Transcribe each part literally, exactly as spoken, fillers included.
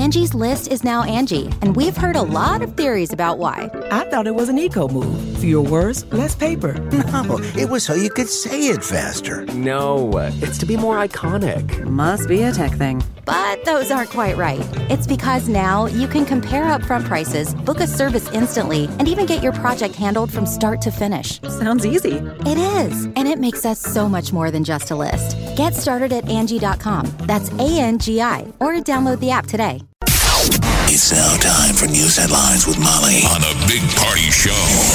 Angie's List is now Angie, and we've heard a lot of theories about why. I thought it was an eco move. Fewer words, less paper. No, it was so you could say it faster. No, it's to be more iconic. Must be a tech thing. But those aren't quite right. It's because now you can compare upfront prices, book a service instantly, and even get your project handled from start to finish. Sounds easy. It is, and it makes us so much more than just a list. Get started at Angie dot com. That's A N G I, or download the app today. It's now time for news headlines with Molly on the Big Party Show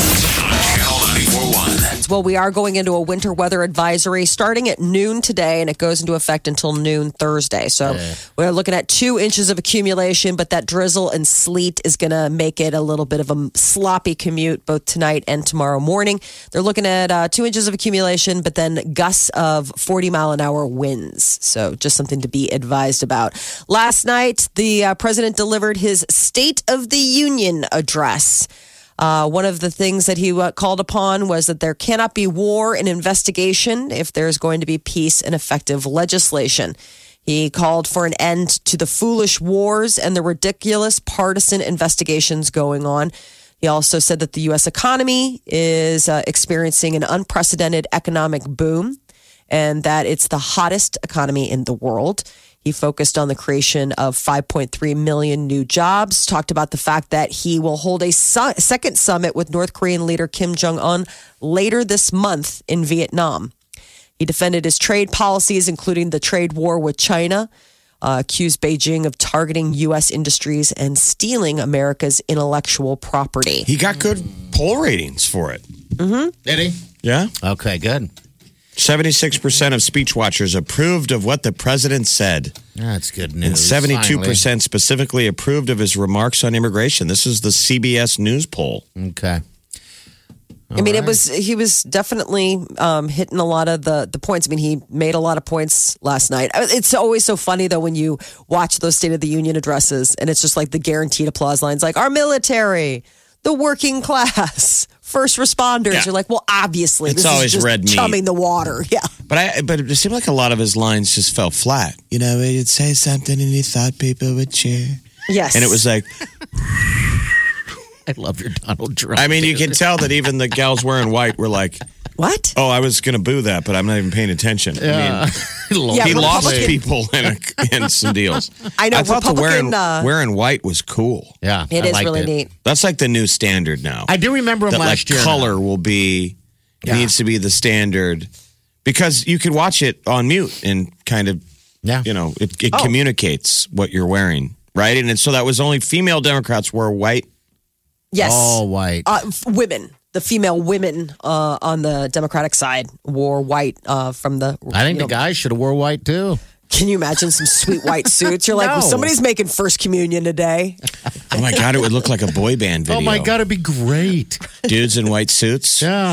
on Channel ninety-four point one. Well, we are going into a winter weather advisory starting at noon today, and it goes into effect until noon Thursday. So yeah. We're looking at two inches of accumulation, but that drizzle and sleet is going to make it a little bit of a sloppy commute both tonight and tomorrow morning. They're looking at uh, two inches of accumulation, but then gusts of forty mile an hour winds. So just something to be advised about. Last night, the uh, president delivered his State of the Union address. Uh, one of the things that he uh, called upon was that there cannot be war and investigation if there's going to be peace and effective legislation. He called for an end to the foolish wars and the ridiculous partisan investigations going on. He also said that the U S economy is uh, experiencing an unprecedented economic boom and that it's the hottest economy in the world. He focused on the creation of five point three million new jobs, talked about the fact that he will hold a su- second summit with North Korean leader Kim Jong-un later this month in Vietnam. He defended his trade policies, including the trade war with China, uh, accused Beijing of targeting U S industries and stealing America's intellectual property. He got good poll ratings for it. Mm-hmm. Did he? Yeah. Okay, good. seventy-six percent of speech watchers approved of what the president said. That's good news. And seventy-two percent specifically approved of his remarks on immigration. This is the C B S News poll. Okay. All I mean, right. it was he was definitely um, hitting a lot of the, the points. I mean, he made a lot of points last night. It's always so funny, though, when you watch those State of the Union addresses, and it's just like the guaranteed applause lines, like our military, the working class, first responders. Yeah. You're like, well, obviously, it's this always is just red meat. chumming the water. Yeah. But I, but it seemed like a lot of his lines just fell flat. You know, he'd say something and he thought people would cheer. Yes. And it was like... I love your Donald Trump. I mean, you can tell that even the gals wearing white were like... What? Oh, I was going to boo that, but I'm not even paying attention. Yeah. I mean, yeah, he lost people in, a, in some deals. I know. I thought the wearing, uh, wearing white was cool. Yeah, it I is really it. neat. That's like the new standard now. I do remember him that, last like, year. Color now. will be yeah. needs to be the standard because you could watch it on mute and kind of, yeah. you know, it, it oh. communicates what you're wearing, right? And it, so that was only female Democrats wore white. Yes, all white. Uh, women. The female women uh, on the Democratic side wore white uh, from the... I think the know, guys should have wore white, too. Can you imagine some sweet white suits? You're like, no. well, somebody's making first communion today. Oh, my God, it would look like a boy band video. Oh, my God, it'd be great. Dudes in white suits. Yeah.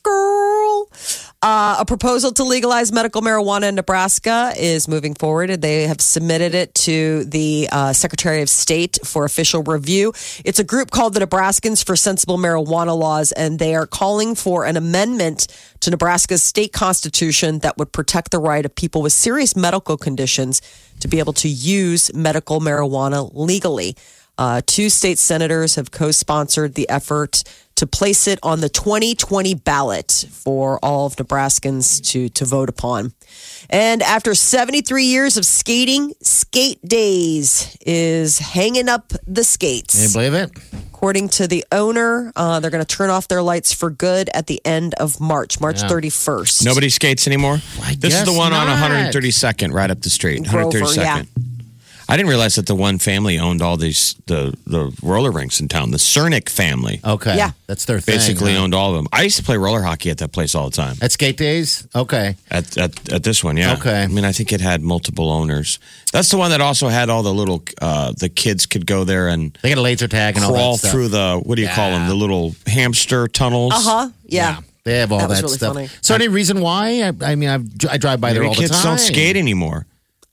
Girl. Uh, a proposal to legalize medical marijuana in Nebraska is moving forward. They have submitted it to the uh, Secretary of State for official review. It's a group called the Nebraskans for Sensible Marijuana Laws, and they are calling for an amendment to Nebraska's state constitution that would protect the right of people with serious medical conditions to be able to use medical marijuana legally. Uh, two state senators have co-sponsored the effort to place it on the twenty twenty ballot for all of Nebraskans to, to vote upon. And after seventy-three years of skating, Skate Days is hanging up the skates. Can you believe it? According to the owner, uh, they're going to turn off their lights for good at the end of March, March Yeah. thirty-first. Nobody skates anymore? I This is the guess one not. on one thirty-second, right up the street. Grover, one thirty-second. yeah. I didn't realize that the one family owned all these the the roller rinks in town. The Cernick family Okay. Yeah. That's their thing. basically huh? owned all of them. I used to play roller hockey at that place all the time. At Skate Days? Okay. At at, at this one, yeah. Okay. I mean, I think it had multiple owners. That's the one that also had all the little uh, the kids could go there and They got a laser tag and all crawl that stuff. through the what do you call them? The little hamster tunnels. Uh-huh. Yeah. They have all That that, was really stuff. funny. So any reason why? I, I mean, I've, I drive by there Maybe all the kids time. don't skate anymore.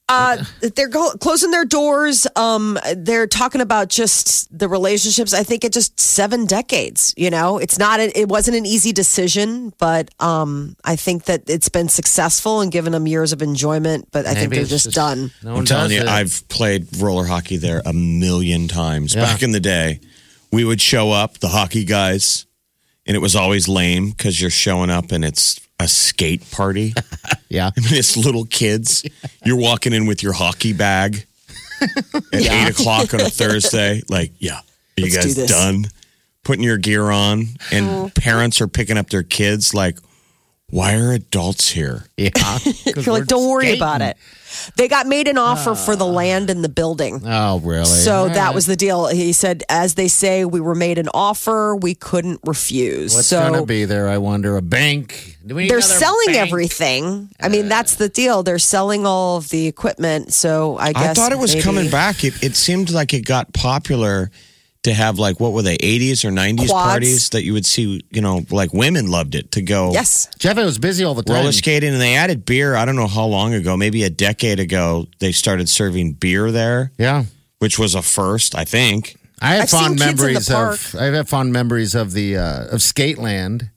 Uh, they're go- closing their doors. Um, they're talking about just the relationships. I think it just seven decades. You know, it's not. A, it wasn't an easy decision, but um, I think that it's been successful and given them years of enjoyment. But I think Maybe they're it's just, just- done. No one I'm telling does you, it. I've played roller hockey there a million times. Yeah. Back in the day, we would show up, the hockey guys, and it was always lame because you're showing up and it's a skate party. Yeah. I mean, it's little kids. You're walking in with your hockey bag at eight o'clock on a Thursday. Like, yeah, are you Let's do guys this. done putting your gear on? And parents are picking up their kids like, why are adults here? Yeah. You're like, don't worry about it. They got made an offer for the land and the building. Oh, really? So All that right. was the deal. He said, as they say, we were made an offer we couldn't refuse. What's so going to be there, I wonder? A bank? Do we need they're another selling bank? everything. I mean, that's the deal. They're selling all of the equipment. So I guess I thought it was maybe- coming back. It, it seemed like it got popular to have like, what were they, eighties or nineties Quads. parties that you would see, you know, like women loved it to go Yes. Jeff, it was busy all the time. roller skating. And they added beer. I don't know how long ago, maybe a decade ago, they started serving beer there, Yeah. which was a first, I think. I have I've seen fond kids in the memories park. of I have fond memories of the uh, of Skateland.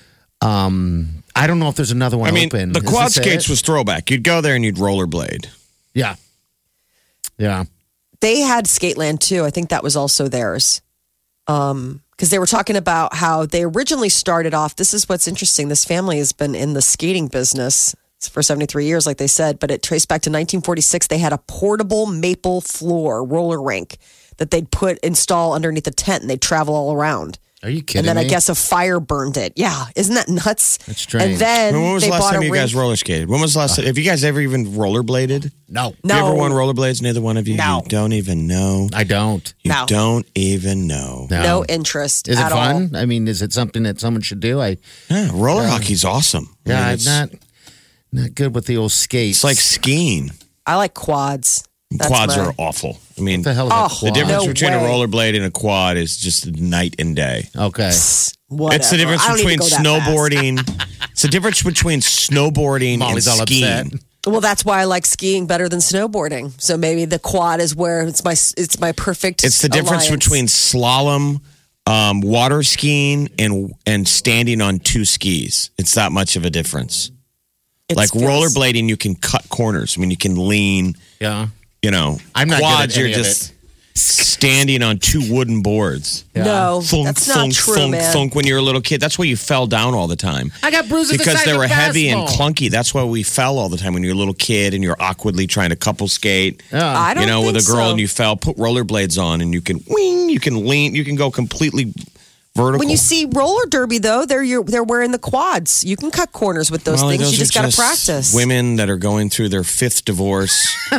Um, I don't know if there's another one I mean, open. the Is quad this it? skates was throwback. You'd go there and you'd rollerblade. Yeah. Yeah. They had Skateland too. I think that was also theirs. Um, because they were talking about how they originally started off. This is what's interesting. This family has been in the skating business for seventy-three years, like they said, but it traced back to nineteen forty-six. They had a portable maple floor roller rink that they'd put install underneath a tent, and they'd travel all around. Are you kidding And then me? I guess a fire burned it. Yeah, isn't that nuts? That's strange. And then When was they the last bought time a you rink. guys roller skated? When was the last time? Have you guys ever even rollerbladed? no. No. You ever won rollerblades? Neither one of you? No. You don't even know. I don't. You No. don't even know. No. No interest Is it at fun? all. I mean, is it something that someone should do? I Yeah, roller hockey's awesome. I yeah, mean, I'm it's, not not good with the old skates. it's like skiing. I like quads. That's Quads my- are awful. I mean, what the hell is Oh, a the quad? difference No between a way. rollerblade and a quad is just night and day. Okay. Whatever. It's the difference I don't between need to go that fast. snowboarding. It's the difference between snowboarding Molly's and all skiing. upset. Well, that's why I like skiing better than snowboarding. So maybe the quad is where it's my it's my perfect. It's the difference alliance. between slalom, um, water skiing, and and standing on two skis. It's that much of a difference. It's Like feels- rollerblading, you can cut corners. I mean, you can lean. Yeah. You know, I'm not good at quads. any You're of just standing on two wooden boards. No, Thunk, that's not thunk, true, thunk, man. thunk when you were a little kid. That's why you fell down all the time. I got bruises the because size they of were a heavy and basketball. clunky. That's why we fell all the time when you were a little kid and you're awkwardly trying to couple skate. I don't You know, think with a girl so. and you fell, put rollerblades on and you can wing, you can lean, you can go completely vertical. When you see roller derby, though, they're you're, they're wearing the quads. You can cut corners with those Molly, things. those You just are got to practice. Women that are going through their fifth divorce.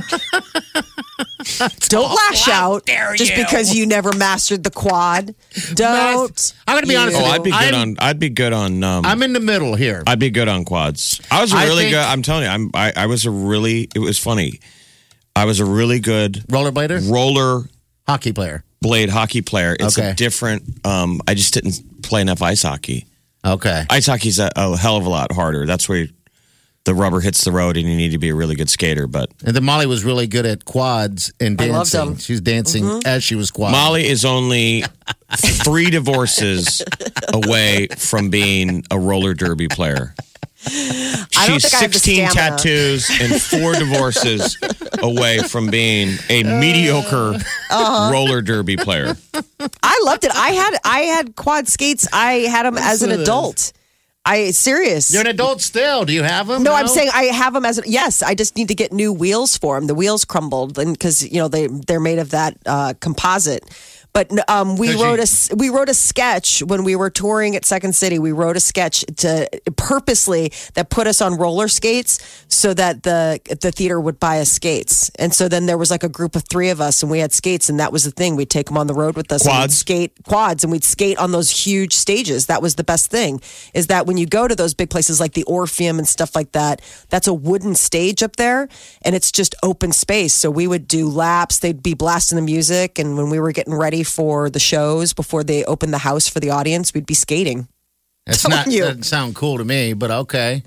Don't lash out just because you never mastered the quad. Don't. I'm gonna be honest Oh, with you. I'd be good I'm, on. I'd be good on. Um, I'm in the middle here. I'd be good on quads. I was a I really think- good. I'm telling you, I'm. I, I was a really. It was funny. I was a really good Rollerblader? roller Hockey player. blade hockey player. It's Okay. a different. Um, I just didn't play enough ice hockey. Okay. Ice hockey's a, a hell of a lot harder. That's where the rubber hits the road, and you need to be a really good skater. But And then Molly was really good at quads and I loved dancing. them. She's dancing Mm-hmm. as she was quad. Molly is only three divorces away from being a roller derby player. I don't She's think I have the sixteen stamina. tattoos and four divorces away from being a mediocre Uh-huh. roller derby player. I loved it. I had I had quad skates. I had them as an adult. I serious. You're an adult still. Do you have them? No, I'm saying I have them as a, yes. I just need to get new wheels for them. The wheels crumbled, and because you know they they're made of that uh, composite. But um, we 'Cause wrote you- a s- we wrote a sketch when we were touring at Second City. We wrote a sketch to purposely that put us on roller skates so that the the theater would buy us skates. And so then there was like a group of three of us, and we had skates, and that was the thing. We'd take them on the road with us. and we'd Quads? skate quads, and we'd skate on those huge stages. That was the best thing. Is that when you go to those big places like the Orpheum and stuff like that, that's a wooden stage up there, and it's just open space. So we would do laps. They'd be blasting the music, and when we were getting ready for the shows before they opened the house for the audience, we'd be skating. It's telling not, you. doesn't sound cool to me, but okay.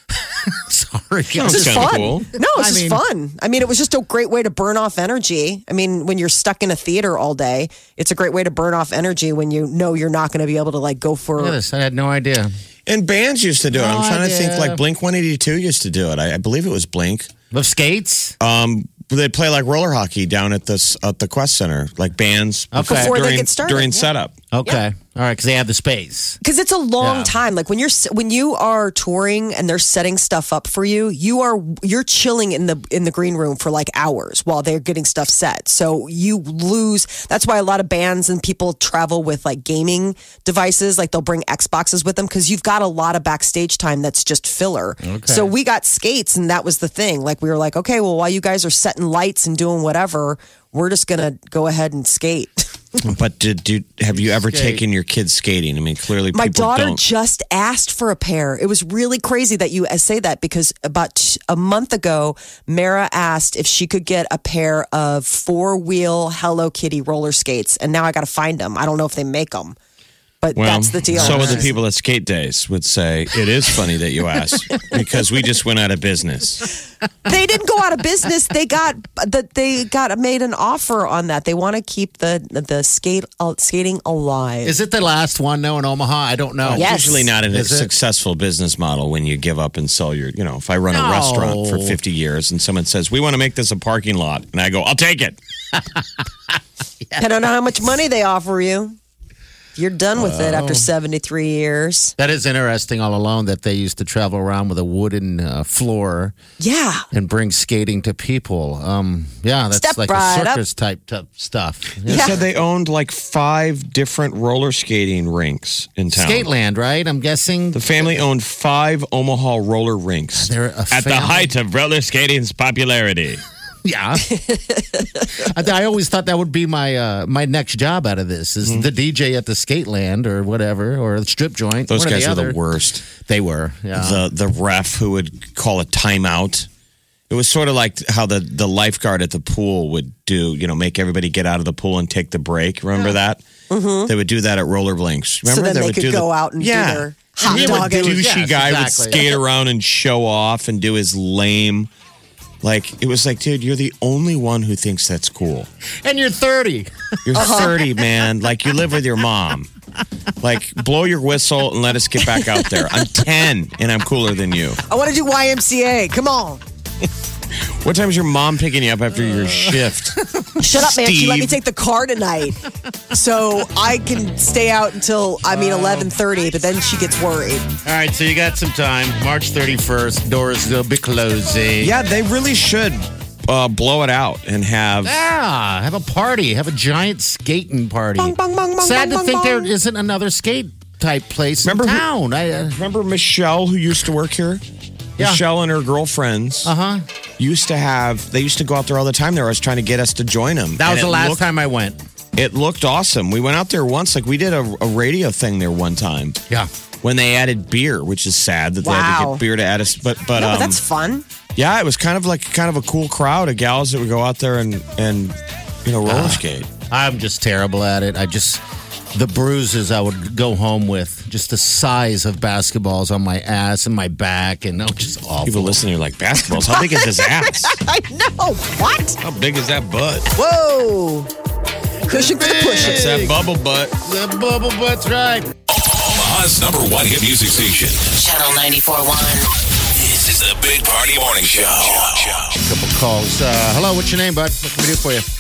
Sorry. Sounds This is kinda fun. cool. No, it's I just mean- fun. I mean, it was just a great way to burn off energy. I mean, when you're stuck in a theater all day, it's a great way to burn off energy when you know you're not going to be able to like go for. Look at this. I had no idea. And bands used to do it. I'm No trying to think, idea. like Blink one eighty-two used to do it. I, I believe it was Blink. With skates? Um, they play like roller hockey down at this at the Quest Center, like bands Okay. Before they during, get started, during yeah. setup. Okay. All right, because they have the space. Because it's a long Yeah. time. Like when you're when you are touring and they're setting stuff up for you, you are you're chilling in the in the green room for like hours while they're getting stuff set. So you lose. That's why a lot of bands and people travel with like gaming devices. Like they'll bring Xboxes with them because you've got a lot of backstage time that's just filler. So we got skates, and that was the thing. Like we were like, okay, well, while you guys are setting lights and doing whatever, we're just gonna go ahead and skate. But did, did have you ever Skate. taken your kids skating? I mean, clearly My people daughter don't. just asked for a pair. It was really crazy that you say that because about t- a month ago, Mara asked if she could get a pair of four wheel Hello Kitty roller skates, and now I got to find them. I don't know if they make them, but Well, that's the deal. so would the people at Skate Days would say, it is funny that you asked because we just went out of business. They didn't go out of business. They got that. They got made an offer on that. They want to keep the the skate uh, skating alive. Is it the last one now in Omaha? I don't know. It's Yes. usually not a Is it? successful business model when you give up and sell your, you know, if I run a No. restaurant for fifty years and someone says, we want to make this a parking lot, and I go, I'll take it. Depending on how much money they offer you, you're done with it after seventy-three years. That is interesting all alone that they used to travel around with a wooden uh, floor Yeah. and bring skating to people. Um, yeah, that's Step like right a up. circus type, type stuff. They Yeah. said they owned like five different roller skating rinks in town. Skateland, right? I'm guessing. The family owned five Omaha roller rinks They're a at the family. height of roller skating's popularity. Yeah. I, I always thought that would be my uh, my next job out of this is the D J at the Skateland or whatever or the strip joint. Those one or guys the were the other. worst. They were. Yeah. The the ref who would call a timeout. It was sort of like how the, the lifeguard at the pool would do, you know, make everybody get out of the pool and take the break. Remember that? Mm-hmm. They would do that at roller blinks. Remember? So then they would could do go the, out and yeah. do their hot And dog. the and- douchey Yes, guy exactly. would skate around and show off and do his lame. Like, it was like, dude, you're the only one who thinks that's cool. And you're thirty. You're thirty, man. Like, you live with your mom. Like, blow your whistle and let us get back out there. I'm ten and I'm cooler than you. I want to do Y M C A. Come on. What time is your mom picking you up after your shift? Shut up, man. She let me Steve. take the car tonight. So I can stay out until, I mean, eleven thirty, but then she gets worried. All right, so you got some time. March thirty-first, doors will be closing. Yeah, they really should uh, blow it out and have. Yeah, have a party. Have a giant skating party. Bong, bong, bong, bong, Sad bong, to think bong, there bong. isn't another skate type place Remember in who- town. I, uh, Remember Michelle, who used to work here? Yeah. Michelle and her girlfriends uh-huh. used to have. They used to go out there all the time. They were always trying to get us to join them. That was And the it last looked- time I went. It looked awesome. We went out there once. Like we did a, a radio thing there one time. Yeah. When they added beer, which is sad that they had to Wow. get beer to add us. But but, No, um, but that's fun. yeah, it was kind of like kind of a cool crowd of gals that would go out there and and you know roller skate. I'm just terrible at it. I just, the bruises I would go home with, just the size of basketballs on my ass and my back, and oh, just awful. People listening are like, basketballs. How big is his ass? I know. What? How big is that butt? Whoa. Cushion for the push. That's that bubble butt. The bubble butt's right. Omaha's number one hit music station. Channel ninety-four point one. This is the Big Party Morning Show. Couple calls. Uh, hello, what's your name, bud? What can we do for you?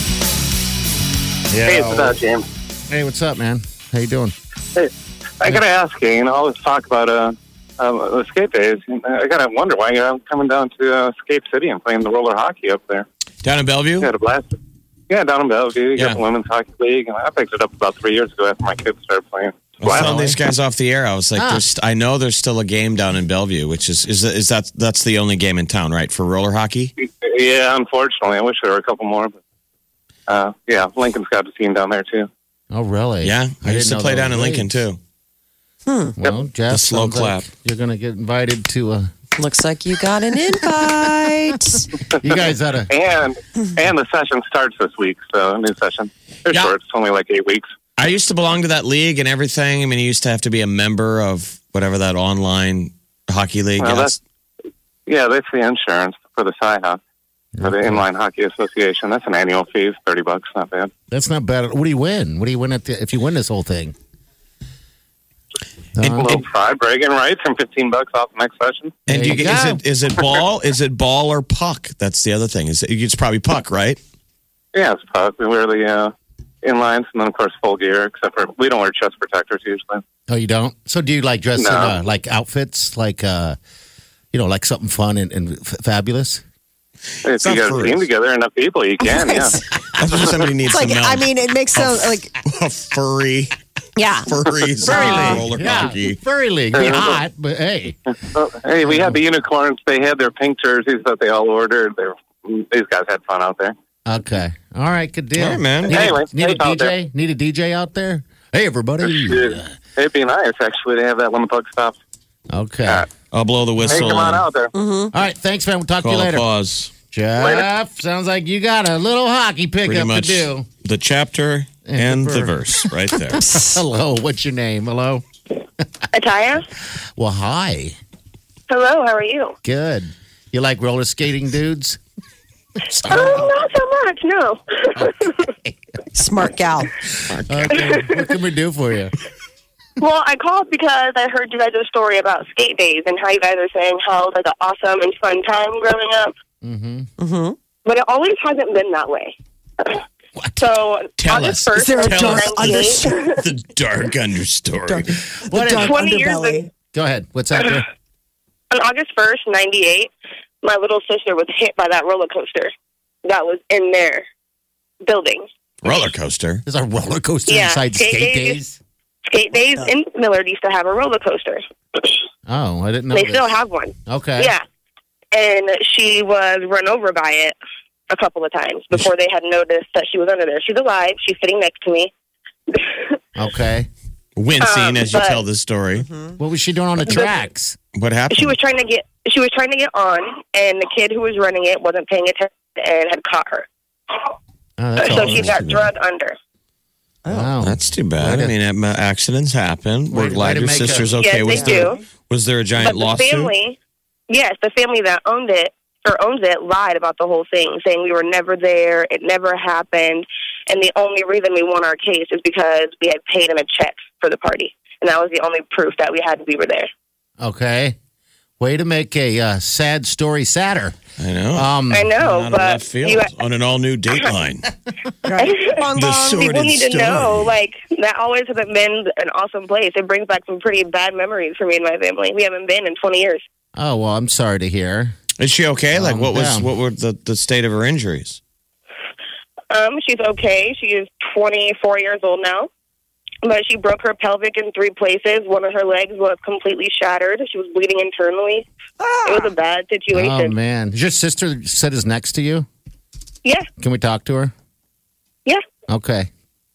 Yeah. Hey, it's about James. Hey, what's up, man? How you doing? Hey, I gotta ask you. You know, all this talk about uh, um, the skate days. I gotta wonder why you're coming down to uh, Skate City and playing the roller hockey up there. Down in Bellevue? You had a blast. Yeah, down in Bellevue. You Yeah. got the women's hockey league, and I picked it up about three years ago after my kids started playing. I was telling Wow. these guys off the air. I was like, Ah. there's, I know there's still a game down in Bellevue, which is is is that that's the only game in town, right, for roller hockey? Yeah, unfortunately, I wish there were a couple more. But uh, yeah, Lincoln's got a team down there too. Oh, really? Yeah, I, used didn't to know play there down in was Lincoln leagues. too. Well, Jeff, The slow sounds like clap. you're going to get invited to a. Looks like you got an invite. You guys had a. And and the session starts this week, so a new session. They're Yeah. short. It's only like eight weeks. I used to belong to that league and everything. I mean, you used to have to be a member of whatever that online Hockey league. Well, yes. that's, yeah, that's the insurance for the S I H A, for the Inline Hockey Association. That's an annual fee, thirty bucks. Not bad. That's not bad. What do you win? What do you win at the, if you win this whole thing? A little fried bragging rights and fifteen bucks off the next session. And do you you get, is go. it is it ball? Is it ball or puck? That's the other thing. Is it, it's probably puck, right? Yeah, it's puck. We wear the uh, inlines and then, of course, full gear, except for we don't wear chest protectors usually. Oh, you don't? So do you like dress No. in uh, like outfits, like uh, you know, like something fun and, and f- fabulous? If you not got a furries. team together, enough people, you can, yeah. That's what somebody needs It's like, to know. I mean, it makes sense. Like, a furry, yeah. furries, roller hockey. Furry league. Be hot, but hey. Well, hey, we had the unicorns. They had their pink jerseys that they all ordered. They were, these guys had fun out there. Okay. All right, good deal. All right, man. Need, Anyway, a, need a safe out D J? Need a D J out there? Hey, everybody. Dude, it'd be nice, actually, to have that when the puck stops. Okay. Yeah. I'll blow the Hey, whistle. come on and out there. All right, thanks, man. We'll talk to you Call a later. pause. Jeff, sounds like you got a little hockey Pretty pickup to much do. the chapter And and, the the verse. verse right there. Hello, what's your name? Hello? Ataya? Well, hi. Hello, how are you? Good. You like roller skating dudes? Oh, not so much, no. Smart gal. Okay. What can we do for you? Well, I called because I heard you guys' story about skate days and how you guys are saying how it was like an awesome and fun time growing up. Mm-hmm. Mm-hmm. But it always hasn't been that way. What? So, Tell August us. first, Is there a Tell us nineteen ninety-eight, the dark understory. What is- Dark twenty years underbelly. ago, Go ahead. What's that? there? on August first, ninety-eight, my little sister was hit by that roller coaster that was in their building. Roller coaster. There's a roller coaster Yeah, inside skate skate days. days? Skate days in Millard used to have a roller coaster. Oh, I didn't know They this. still have one. Okay. Yeah. And she was run over by it a couple of times before they had noticed that she was under there. She's alive. She's sitting next to me. Okay. Wincing Um, as you but- tell this story. What was she doing on the tracks? What happened? She was trying to get she was trying to get on, and the kid who was running it wasn't paying attention and had caught her. Oh, that's So all. she got drugged under. Wow. That's too bad. Way I to- mean, um, accidents happen. We're Way- way glad to your make a- sister's okay. Yes, was they there do. was there a giant But the lawsuit? family, yes, the family that owned it or owns it lied about the whole thing, saying we were never there, it never happened, and the only reason we won our case is because we had paid them a check for the party, and that was the only proof that we had we were there. Okay. Way to make a uh, sad story sadder. I know. Um, I know, Out of but left field you, on an all new Dateline. Bong, The bong. sordid people need to story. know, like, that always hasn't been an awesome place. It brings back some pretty bad memories for me and my family. We haven't been in twenty years. oh, well, I'm sorry to hear. Is she okay? Like, Um, what was yeah. what were the, the state of her injuries? Um, she's okay. She is twenty-four years old now. But she broke her pelvic in three places. One of her legs was completely shattered. She was bleeding internally. It was a bad Oh, situation. man. Your sister said is next to you? Yeah, Can we talk to her? yeah. Okay.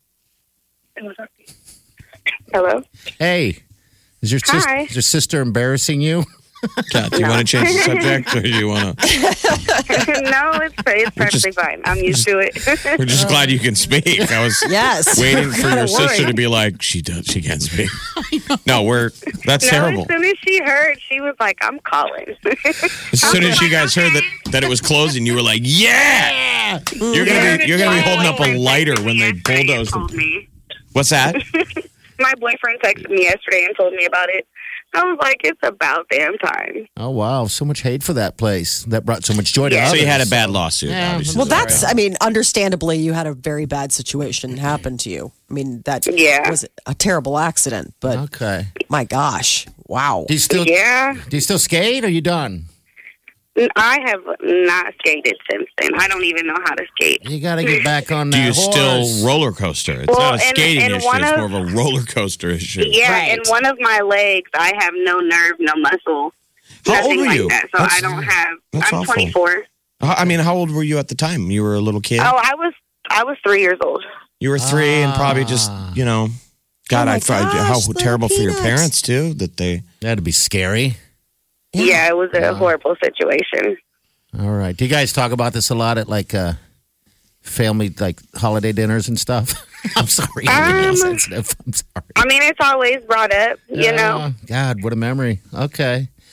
Hello? Hey, is your, sis- Hi. is your sister embarrassing you? Kat, do you want to change the subject, or do you want to? No, it's, it's perfectly just- fine. I'm used to it. We're just glad you can speak. I was Yes. waiting for your Don't sister worry. to be like, she does, she can speak. No, we're that's no, terrible. as soon as she heard, she was like, I'm calling. As soon as you guys heard that that it was closing, you were like, yeah. You're gonna be you're gonna be holding up a lighter when they bulldoze told them. me. What's that? My boyfriend texted me yesterday and told me about it. I was like, it's about damn time. Oh, wow. So much hate for that place. That brought so much joy to Yeah. others. So you had a bad lawsuit. Yeah. obviously. Well, that's, I mean, understandably, you had a very bad situation happen to you. I mean, that Yeah. was a terrible accident, but Okay. my gosh. Wow. Do you still Yeah. do you still skate or are you done? I have not skated since then. I don't even know how to skate. You got to get back on Do that you horse. still roller coaster? It's Well, not a and- skating and issue. one It's of- more of a roller coaster issue. Yeah, Right. and one of my legs, I have no nerve, no muscle. How nothing old were like you? that. So That's- I don't have. that's I'm awful. twenty-four. How- I mean, how old were you at the time? You were a little kid. Oh, I was I was three years old. You were three, and probably just you know, God, Oh my I thought gosh, how little terrible for your peanuts. parents too that they. That'd be scary. Yeah, it was a horrible situation. All right. Do you guys talk about this a lot at like uh, family, like holiday dinners and stuff? I'm sorry. I'm being Um, sensitive. I'm sorry. I mean, it's always brought up, you know. Oh, God, what a memory. Okay.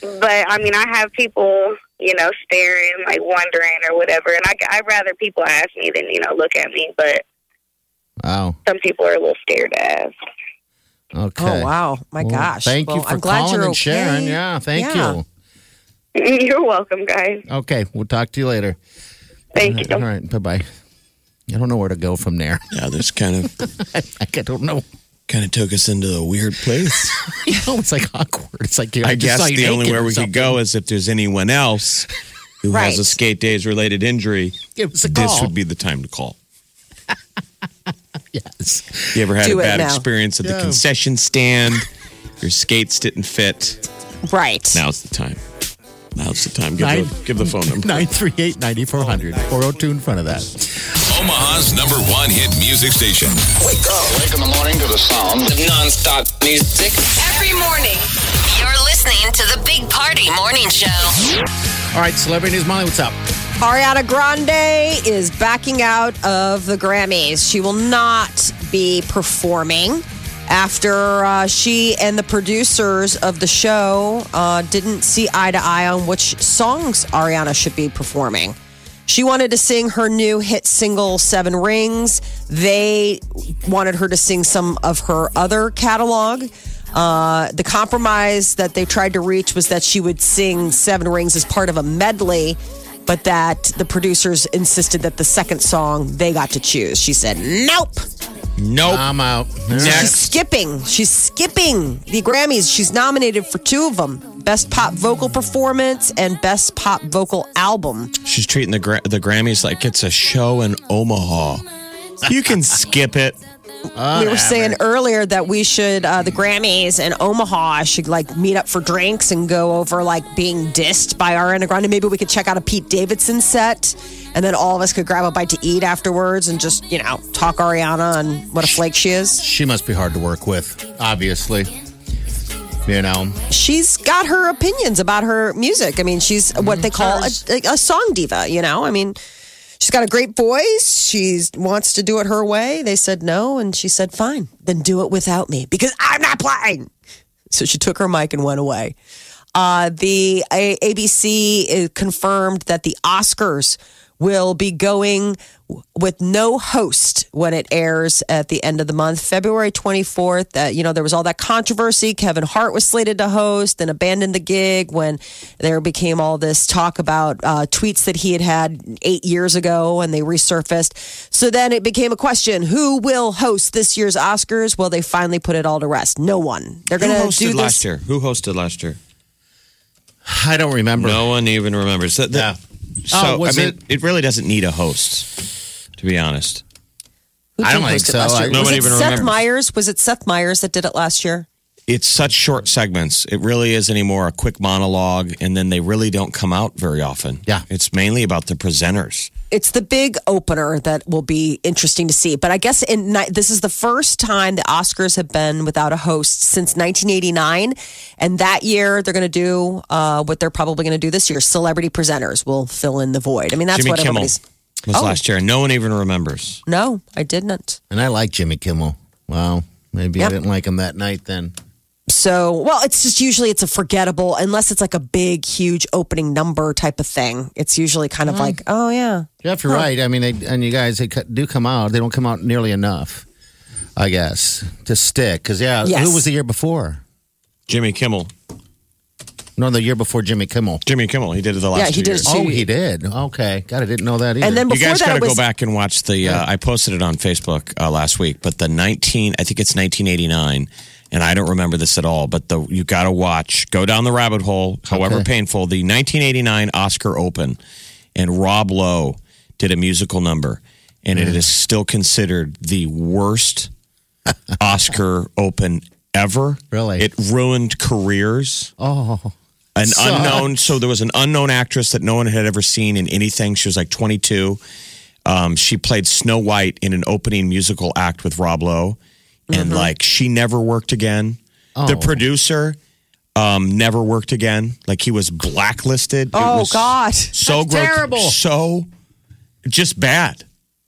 But I mean, I have people, you know, staring, like wondering or whatever, and I I'd rather people ask me than you know look at me. But wow, some people are a little scared to ask. Okay. Oh wow, my Well, gosh! Thank Well, you for I'm glad calling you're and okay. sharing. Yeah, thank Yeah. you. You're welcome, guys. Okay, we'll talk to you later. Thank you. All right, bye bye. I don't know where to go from there. Yeah, this kind of I don't know. kind of took us into a weird place. You know, it's like awkward. It's like I just saw guess you the only naked way or we could something. go is if there's anyone else who Right. has a skate days related injury. Give us a This call. would be the time to call. Yes. You ever had Do a it bad now. experience at the Yeah. concession stand? Your skates didn't fit. Right. Now's the time. Now's the time. Give, Nine- the, give the phone number. nine three eight, nine four hundred. four oh two in front of that. Omaha's number one hit music station. Wake up. Wake in the morning to the sound of non-stop music. Every morning, you're listening to the Big Party Morning Show. All right, Celebrity News Molly, what's up? Ariana Grande is backing out of the Grammys. She will not be performing after uh, she and the producers of the show uh, didn't see eye to eye on which songs Ariana should be performing. She wanted to sing her new hit single, Seven Rings. They wanted her to sing some of her other catalog. Uh, the compromise that they tried to reach was that she would sing Seven Rings as part of a medley, but that the producers insisted that the second song they got to choose. She said, nope. Nope. I'm out. She's skipping. She's skipping the Grammys. She's nominated for two of them. Best Pop Vocal Performance and Best Pop Vocal Album. She's treating the gra- the Grammys like it's a show in Omaha. You can skip it. We were saying earlier that we should, uh, the Grammys and Omaha should like meet up for drinks and go over like being dissed by Ariana Grande. Maybe we could check out a Pete Davidson set and then all of us could grab a bite to eat afterwards and just, you know, talk Ariana and what a flake she is. She must be hard to work with, obviously. You know, She's got her opinions about her music. I mean, she's what they call a, a song diva, you know? I mean, she's got a great voice. She wants to do it her way. They said no, and she said, fine, then do it without me because I'm not playing. So she took her mic and went away. Uh, the A- ABC confirmed that the Oscars will be going with no host when it airs at the end of the month, February twenty-fourth. Uh, you know, there was all that controversy. Kevin Hart was slated to host and abandoned the gig when there became all this talk about uh, tweets that he had had eight years ago and they resurfaced. So then it became a question, who will host this year's Oscars? Well, they finally put it all to rest. No one. They're Who going to hosted do this. last year? Who hosted last year? I don't remember. No one even remembers. So, the- Yeah. so Oh, was I mean, it- it really doesn't need a host, to be honest. Who I don't did think host it so. last year? I- Was Nobody it even Seth remembers. Meyers? Was it Seth Meyers that did it last year? It's such short segments. It really is anymore a quick monologue, and then they really don't come out very often. Yeah. It's mainly about the presenters. It's the big opener that will be interesting to see. But I guess in ni- this is the first time the Oscars have been without a host since nineteen eighty-nine. And that year, they're going to do uh, what they're probably going to do this year. Celebrity presenters will fill in the void. I mean, that's Jimmy what Kimmel everybody's... was Oh. last year, and no one even remembers. No, I didn't. And I like Jimmy Kimmel. Wow. Maybe Yep. I didn't like him that night then. So, well, it's just usually it's a forgettable, unless it's like a big, huge opening number type of thing. It's usually kind of like, oh, yeah. Jeff, you're right. I mean, they, and you guys, they co- do come out. They don't come out nearly enough, I guess, to stick. Because, yeah, Yes. who was the year before? Jimmy Kimmel. No, the year before Jimmy Kimmel. Jimmy Kimmel. He did it the last Yeah, he two did years. it Oh, he did. Okay. God, I didn't know that either. And then You before guys that, got to it was... go back and watch the. Uh, I posted it on Facebook uh, last week, but the nineteen, I think it's nineteen eighty-nine, and I don't remember this at all. But the you got to watch. Go down the rabbit hole, however Okay. painful. The nineteen eighty-nine Oscar Open, and Rob Lowe did a musical number, and it is still considered the worst Oscar Open ever. Really? It ruined careers. oh, An Sucks. unknown, so there was an unknown actress that no one had ever seen in anything. She was like twenty-two. Um, she played Snow White in an opening musical act with Rob Lowe, and like she never worked again. The Oh. producer um, never worked again. Like he was blacklisted. It Oh, was God. so That's gro- terrible. so just bad.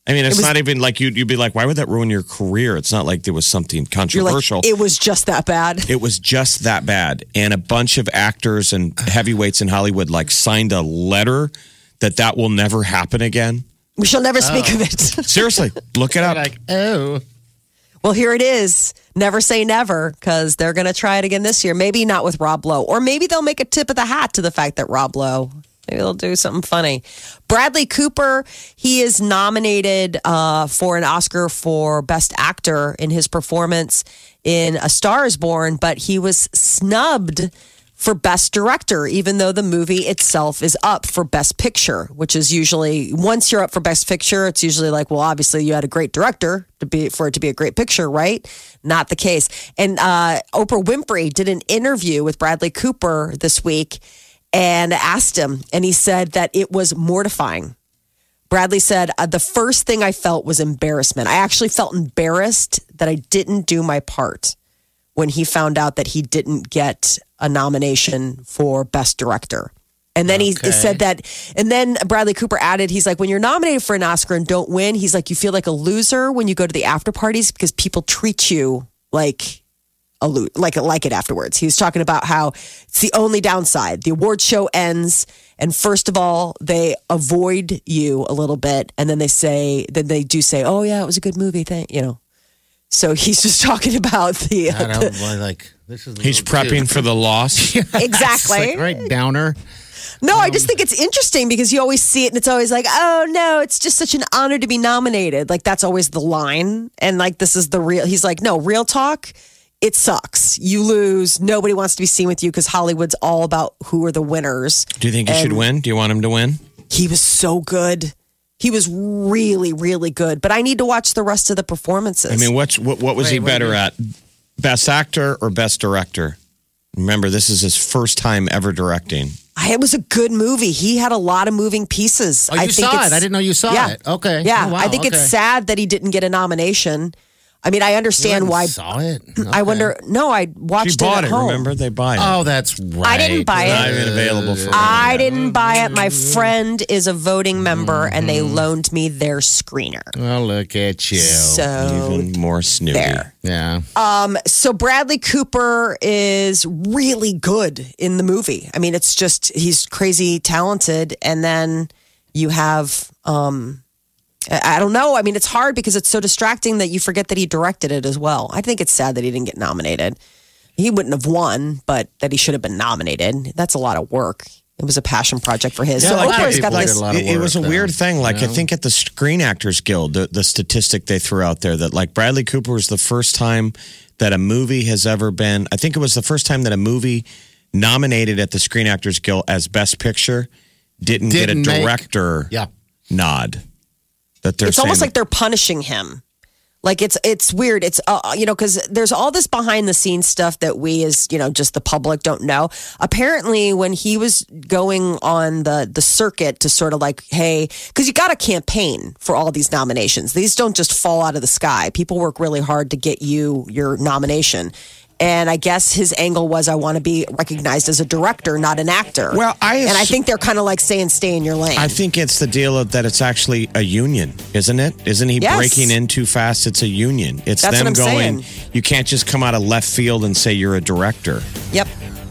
I mean, it's It was- not even like you'd, you'd be like, why would that ruin your career? It's not like there was something You're like, controversial. it was just that bad. It was just that bad. And a bunch of actors and heavyweights in Hollywood like signed a letter that that will never happen again. We shall never speak of it. Seriously, look it up. Like, oh. Well, here it is. Never say never, because they're going to try it again this year. Maybe not with Rob Lowe. Or maybe they'll make a tip of the hat to the fact that Rob Lowe, maybe they'll do something funny. Bradley Cooper, he is nominated uh, for an Oscar for Best Actor in his performance in A Star is Born, but he was snubbed for Best Director, even though the movie itself is up for Best Picture, which is usually, once you're up for Best Picture, it's usually like, well, obviously you had a great director to be for it to be a great picture, right? Not the case. And uh, Oprah Winfrey did an interview with Bradley Cooper this week and asked him, and he said that it was mortifying. Bradley said, uh, the first thing I felt was embarrassment. I actually felt embarrassed that I didn't do my part when he found out that he didn't get a nomination for Best Director. And then Okay. he said that, and then Bradley Cooper added, he's like, when you're nominated for an Oscar and don't win, he's like, you feel like a loser when you go to the after parties because people treat you like a lo- like like it afterwards. He was talking about how it's the only downside. The award show ends, and first of all, they avoid you a little bit, and then they say, then they do say, oh yeah, it was a good movie, thank you know. So he's just talking about the. I don't boy, like this is. a He's little prepping too- for the loss. Exactly. Like, right downer. No, I just think it's interesting because you always see it and it's always like, oh no, it's just such an honor to be nominated. Like that's always the line. And like this is the real, he's like, no, real talk, it sucks. You lose. Nobody wants to be seen with you because Hollywood's all about who are the winners. Do you think he And should win? Do you want him to win? He was so good. He was really, really good. But I need to watch the rest of the performances. I mean, what's, what, what was Wait, he what better do you- at? Best actor or best director? Remember, this is his first time ever directing. I, it was a good movie. He had a lot of moving pieces. Oh, you I think saw it's- it. I didn't know you saw yeah. it. Okay. Yeah, Oh, wow. I think it's Okay. sad that he didn't get a nomination. I mean, I You understand went and why. Saw it. I wonder. No, I watched She bought it it, at home. remember? They buy it. Oh, that's right. I didn't buy It's it. not even available for I didn't buy it. My friend is a voting member, and they loaned me their screener. Well, look at you. So Even more snooty. there. yeah. Um, so Bradley Cooper is really good in the movie. I mean, it's just he's crazy talented, and then you have um, I I don't know. I mean, it's hard because it's so distracting that you forget that he directed it as well. I think it's sad that he didn't get nominated. He wouldn't have won, but that he should have been nominated. That's a lot of work. It was a passion project for his. Yeah, so a lot of Oprah's got people did this. a lot of It, it was a work, weird though, thing. Like, you I know? think at the Screen Actors Guild, the, the statistic they threw out there that, like, Bradley Cooper was the first time that a movie has ever been, I think it was the first time that a movie nominated at the Screen Actors Guild as Best Picture didn't, Didn't get a make- director Yeah. nod. That they're It's almost saying- like they're punishing him. Like it's it's weird. It's uh, you know because there's all this behind the scenes stuff that we as you know just the public don't know. Apparently, when he was going on the the circuit to sort of like, hey, because you got to campaign for all these nominations. These don't just fall out of the sky. People work really hard to get you your nomination. And I guess his angle was, I want to be recognized as a director, not an actor. Well, I and I assu- think they're kind of like saying, stay in your lane. I think it's the deal of that it's actually a union, isn't it? Isn't he Yes. breaking in too fast? It's a union. It's That's them what I'm going, saying. you can't just come out of left field and say you're a director. Yep.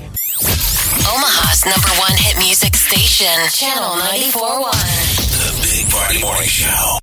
Omaha's number one hit music station, Channel ninety-four point one. The Big Party Morning Show.